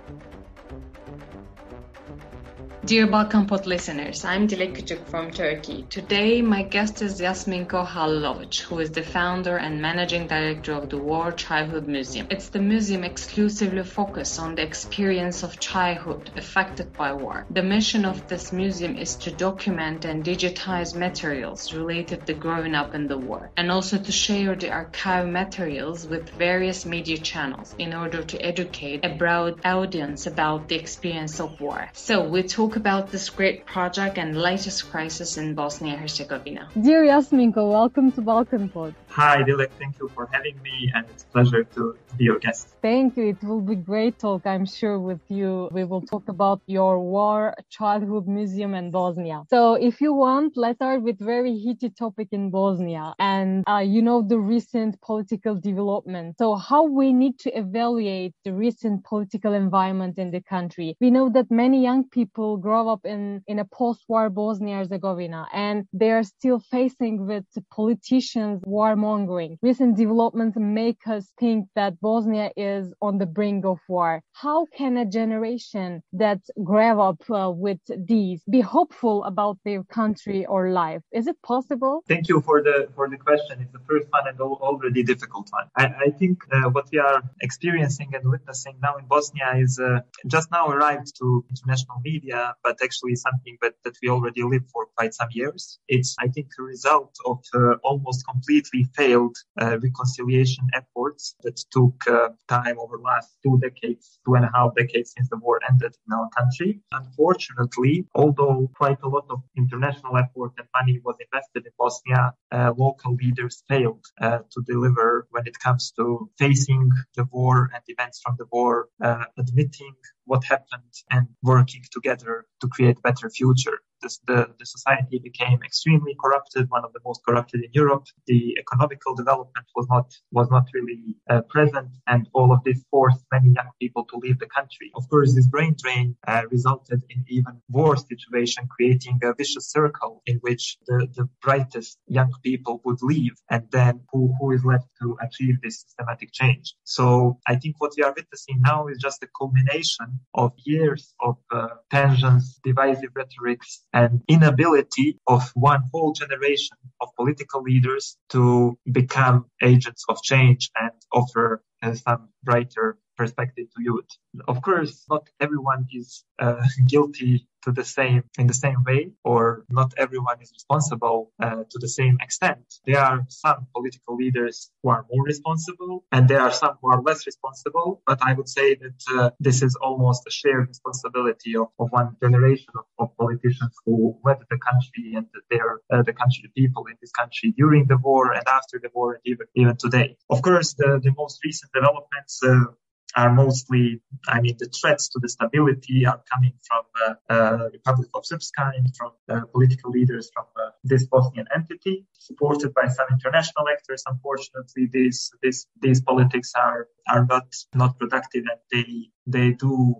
Dear Balkan Pod listeners, I'm Dilek Küçük from Turkey. Today, my guest is Yasminko Halilovic, who is the founder and managing director of the War Childhood Museum. It's the museum exclusively focused on the experience of childhood affected by war. The mission of this museum is to document and digitize materials related to growing up in the war, and also to share the archive materials with various media channels in order to educate a broad audience about the experience of war. So we talk about this great project and latest crisis in Bosnia and Herzegovina. Dear Yasminko, welcome to Balkan Pod. Hi, Dilek. Thank you for having me, and it's a pleasure to be your guest. Thank you. It will be great talk, I'm sure, with you. We will talk about your War Childhood Museum in Bosnia. So if you want, let's start with very heated topic in Bosnia and, the recent political development. So how we need to evaluate the recent political environment in the country. We know that many young people grow up in a post-war Bosnia-Herzegovina, and they are still facing with politicians warmongering. Recent developments make us think that Bosnia is on the brink of war. How can a generation that grew up with these be hopeful about their country or life? Is it possible? Thank you for the question. It's the first one and already difficult one. I think what we are experiencing and witnessing now in Bosnia is just now arrived to international media, but actually something that we already lived for quite some years. It's, I think, a result of almost completely failed reconciliation efforts that took time over the last 2.5 decades since the war ended in our country. Unfortunately, although quite a lot of international effort and money was invested in Bosnia, local leaders failed to deliver when it comes to facing the war and events from the war, admitting what happened and working together to create a better future. The society became extremely corrupted, one of the most corrupted in Europe. The economical development was not really present, and all of this forced many young people to leave the country. Of course, this brain drain resulted in even worse situation, creating a vicious circle in which the brightest young people would leave, and then who is left to achieve this systematic change? So I think what we are witnessing now is just a culmination of years of tensions, divisive rhetorics, and inability of one whole generation of political leaders to become agents of change and offer some brighter perspective to youth. Of course, not everyone is guilty in the same way, or not everyone is responsible to the same extent. There are some political leaders who are more responsible, and there are some who are less responsible. But I would say that this is almost a shared responsibility of one generation of politicians who led the country and the people in this country during the war and after the war, and even today. Of course, the most recent developments are mostly, the threats to the stability are coming from Republic of Srpska and from political leaders from this Bosnian entity, supported by some international actors. Unfortunately, these politics are not productive, and they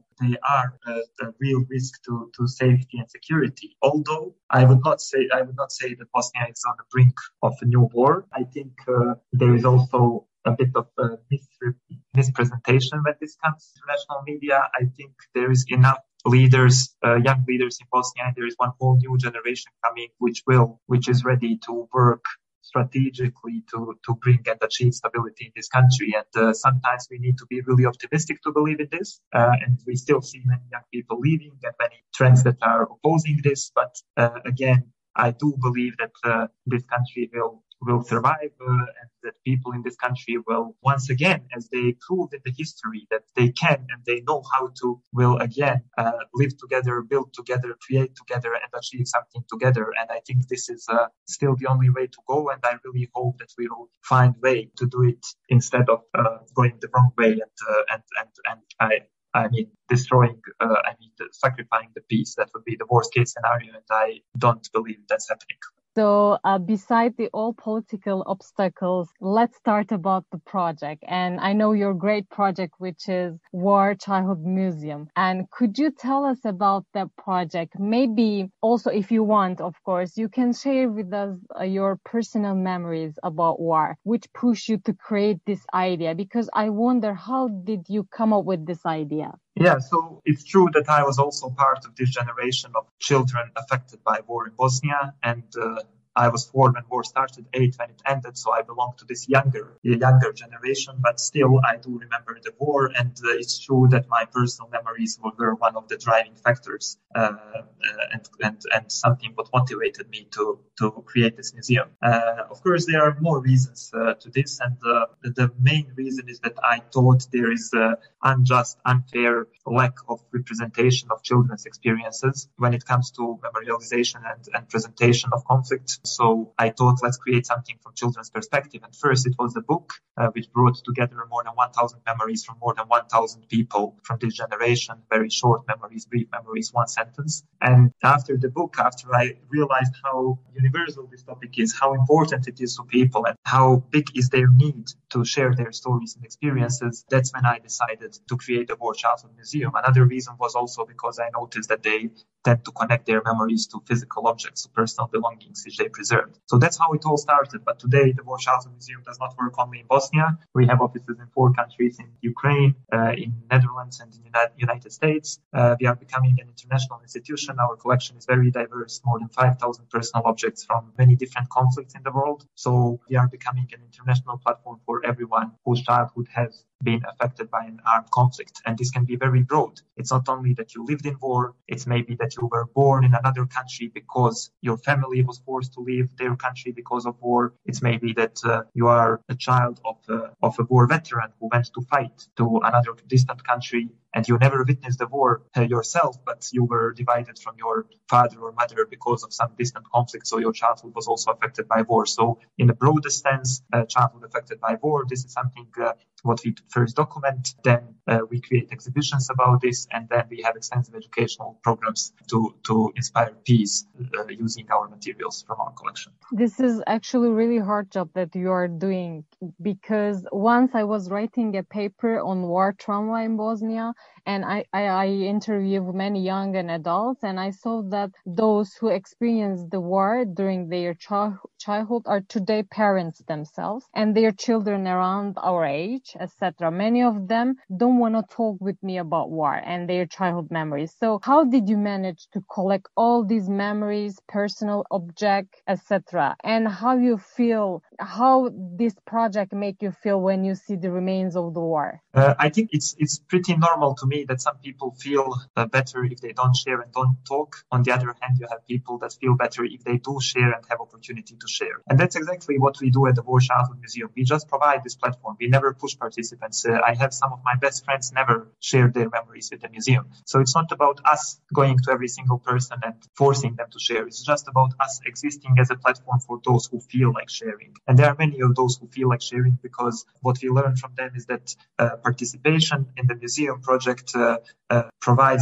are a real risk to safety and security. Although I would not say that Bosnia is on the brink of a new war. I think there is also a bit of mispresentation when this comes to international media. I think there is enough leaders, young leaders in Bosnia, and there is one whole new generation coming, which is ready to work strategically to bring and achieve stability in this country. And sometimes we need to be really optimistic to believe in this. And we still see many young people leaving and many trends that are opposing this. But again, I do believe that this country will survive and that people in this country will once again, as they proved in the history that they can and they know how to, will again live together, build together, create together, and achieve something together. And I think this is still the only way to go, and I really hope that we will find a way to do it instead of going the wrong way and destroying, sacrificing the peace. That would be the worst case scenario, and I don't believe that's happening. So beside the all political obstacles, let's start about the project. And I know your great project, which is War Childhood Museum. And could you tell us about that project? Maybe also, if you want, of course, you can share with us your personal memories about war, which pushed you to create this idea. Because I wonder, how did you come up with this idea? Yeah, so it's true that I was also part of this generation of children affected by war in Bosnia, and I was 4 when war started, 8 when it ended, so I belong to this younger generation, but still I do remember the war, and it's true that my personal memories were one of the driving factors and something what motivated me to create this museum. Of course, there are more reasons to this, and the main reason is that I thought there is unjust, unfair lack of representation of children's experiences when it comes to memorialization and presentation of conflict. So I thought, let's create something from children's perspective. And first, it was a book which brought together more than 1,000 memories from more than 1,000 people from this generation, very short memories, brief memories, one sentence. And after the book, after I realized how universal this topic is, how important it is to people, and how big is their need to share their stories and experiences, that's when I decided to create the War Childhood Museum. Another reason was also because I noticed that they tend to connect their memories to physical objects, to personal belongings which they preserved. So that's how it all started. But today, the War Childhood Museum does not work only in Bosnia. We have offices in 4 countries, in Ukraine, in Netherlands, and in the United States. We are becoming an international institution. Our collection is very diverse, more than 5,000 personal objects from many different conflicts in the world. So we are becoming an international platform for everyone whose childhood has been affected by an armed conflict. And this can be very broad. It's not only that you lived in war, it's maybe that you were born in another country because your family was forced to leave their country because of war. It's maybe that you are a child of a war veteran who went to fight to another distant country, and you never witnessed the war yourself, but you were divided from your father or mother because of some distant conflict, so your childhood was also affected by war. So in the broadest sense, childhood affected by war, this is something what we first document, then we create exhibitions about this, and then we have extensive educational programs to inspire peace using our materials from our collection. This is actually a really hard job that you are doing, because once I was writing a paper on war trauma in Bosnia, and I interviewed many young and adults, and I saw that those who experienced the war during their childhood are today parents themselves, and their children around our age, etc. Many of them don't want to talk with me about war and their childhood memories. So how did you manage to collect all these memories, personal objects, etc.? And how you feel, how this project make you feel when you see the remains of the war? I think it's pretty normal to me that some people feel better if they don't share and don't talk. On the other hand, you have people that feel better if they do share and have opportunity to share. And that's exactly what we do at the War Childhood Museum. We just provide this platform. We never push participants. I have some of my best friends never shared their memories with the museum. So it's not about us going to every single person and forcing them to share. It's just about us existing as a platform for those who feel like sharing. And there are many of those who feel like sharing, because what we learn from them is that participation in the museum project provides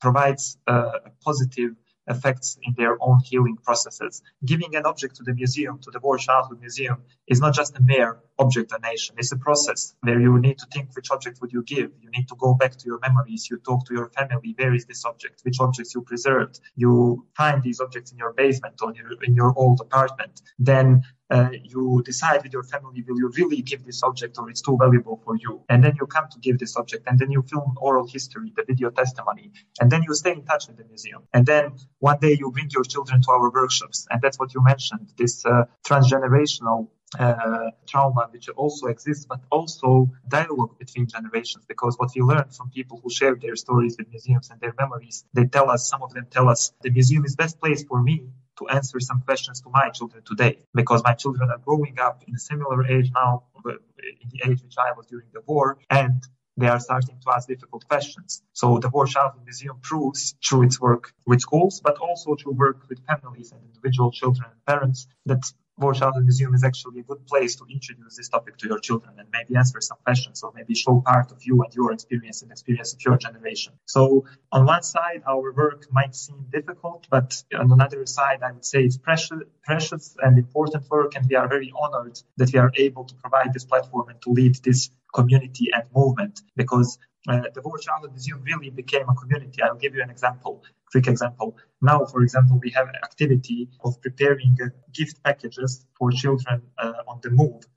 positive effects in their own healing processes. Giving an object to the museum, to the War Childhood Museum, is not just a mere object donation. It's a process where you need to think which object would you give. You need to go back to your memories. You talk to your family. Where is this object? Which objects you preserved? You find these objects in your basement or in your old apartment. Then you decide with your family, will you really give this object or it's too valuable for you? And then you come to give this object, and then you film oral history, the video testimony, and then you stay in touch with the museum. And then one day you bring your children to our workshops. And that's what you mentioned, this transgenerational trauma, which also exists, but also dialogue between generations, because what we learn from people who share their stories with museums and their memories, some of them tell us, the museum is best place for me to answer some questions to my children today, because my children are growing up in a similar age now, in the age which I was during the war, and they are starting to ask difficult questions. So the War Childhood Museum proves through its work with schools, but also through work with families and individual children and parents, that War Childhood Museum is actually a good place to introduce this topic to your children and maybe answer some questions, or maybe show part of you and your experience and experience of your generation. So on one side, our work might seem difficult, but on another side, I would say it's precious and important work, and we are very honored that we are able to provide this platform and to lead this community and movement, because the War Childhood Museum really became a community. I'll give you an example, quick example. Now, for example, we have an activity of preparing gift packages for children on the move.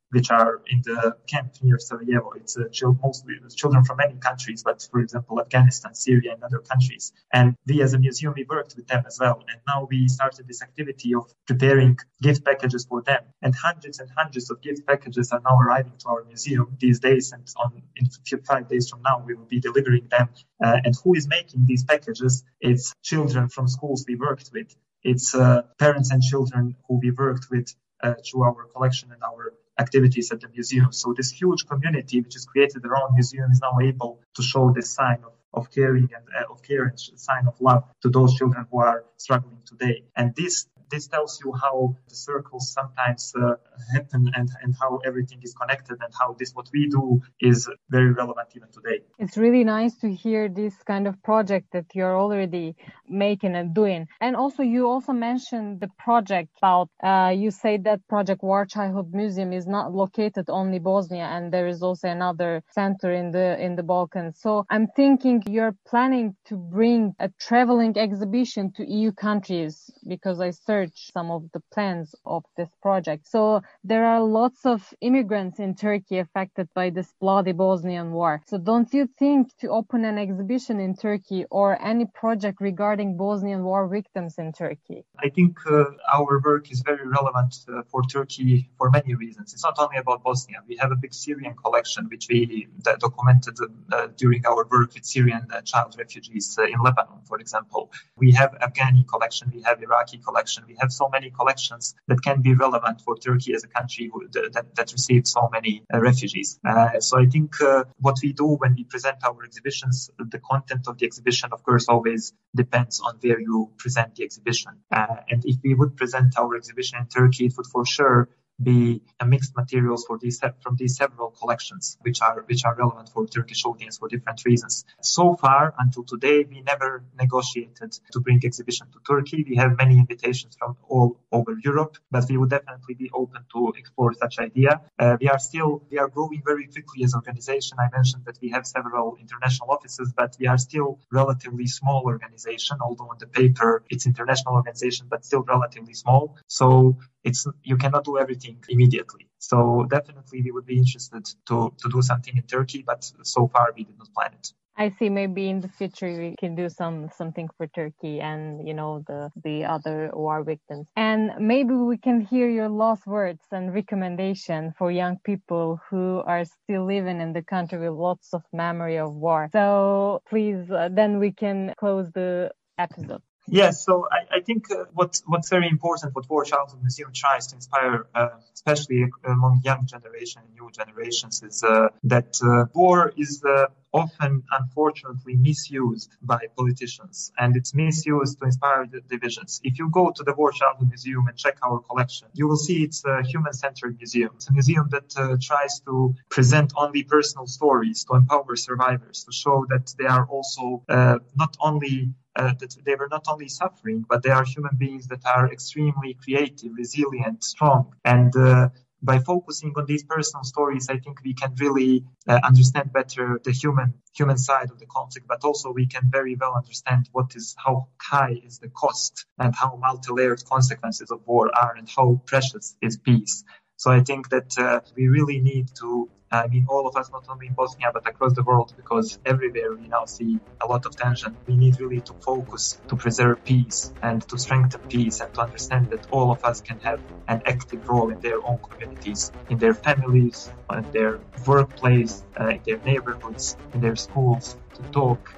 which are in the camp near Sarajevo. It's mostly children from many countries, but for example, Afghanistan, Syria, and other countries. And we as a museum, we worked with them as well. And now we started this activity of preparing gift packages for them. And hundreds of gift packages are now arriving to our museum these days. And in 5 days from now, we will be delivering them. And who is making these packages? It's children from schools we worked with. It's parents and children who we worked with through our collection and our activities at the museum. So this huge community which is created around museum is now able to show this sign of caring and of care and sign of love to those children who are struggling today. And this tells you how the circles sometimes happen and how everything is connected and how what we do is very relevant even today. It's really nice to hear this kind of project that you're already making and doing. And also, you also mentioned the project about, you say that Project War Childhood Museum is not located only Bosnia, and there is also another center in the Balkans. So I'm thinking you're planning to bring a traveling exhibition to EU countries, because I searched some of the plans of this project. So there are lots of immigrants in Turkey affected by this bloody Bosnian war. So don't you think to open an exhibition in Turkey or any project regarding Bosnian war victims in Turkey? I think our work is very relevant for Turkey for many reasons. It's not only about Bosnia. We have a big Syrian collection which we documented during our work with Syrian child refugees in Lebanon, for example. We have Afghani collection, we have Iraqi collection. We have so many collections that can be relevant for Turkey as a country that received so many refugees. So I think what we do when we present our exhibitions, the content of the exhibition, of course, always depends on where you present the exhibition. And if we would present our exhibition in Turkey, it would for sure be a mixed materials from these several collections, which are relevant for Turkish audience for different reasons. So far, until today, we never negotiated to bring exhibition to Turkey. We have many invitations from all over Europe, but we would definitely be open to explore such idea. We are growing very quickly as an organization. I mentioned that we have several international offices, but we are still relatively small organization, although on the paper it's international organization, but still relatively small. So you cannot do everything immediately. So definitely we would be interested to do something in Turkey, but so far we did not plan it. I see. Maybe in the future we can do something for Turkey and, the other war victims. And maybe we can hear your last words and recommendation for young people who are still living in the country with lots of memory of war. So please, then we can close the episode. Yes, so I think what's very important, what War Childhood Museum tries to inspire, especially among young generation and new generations, is that war is often, unfortunately, misused by politicians, and it's misused to inspire the divisions. If you go to the War Childhood Museum and check our collection, you will see it's a human-centered museum. It's a museum that tries to present only personal stories, to empower survivors, to show that they are also not only that they were not only suffering, but they are human beings that are extremely creative, resilient, strong. And by focusing on these personal stories, I think we can really understand better the human side of the conflict, but also we can very well understand how high is the cost and how multi-layered consequences of war are and how precious is peace. So I think that we really need to, all of us, not only in Bosnia, but across the world, because everywhere we now see a lot of tension. We need really to focus to preserve peace and to strengthen peace and to understand that all of us can have an active role in their own communities, in their families, in their workplace, in their neighborhoods, in their schools, to talk,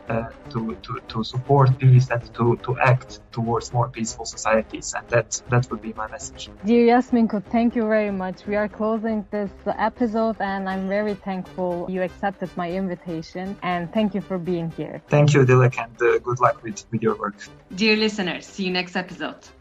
to support peace and to act towards more peaceful societies. And that would be my message. Dear Yasminko, thank you very much. We are closing this episode and I'm very thankful you accepted my invitation, and thank you for being here. Thank you, Dilek, and good luck with your work. Dear listeners, see you next episode.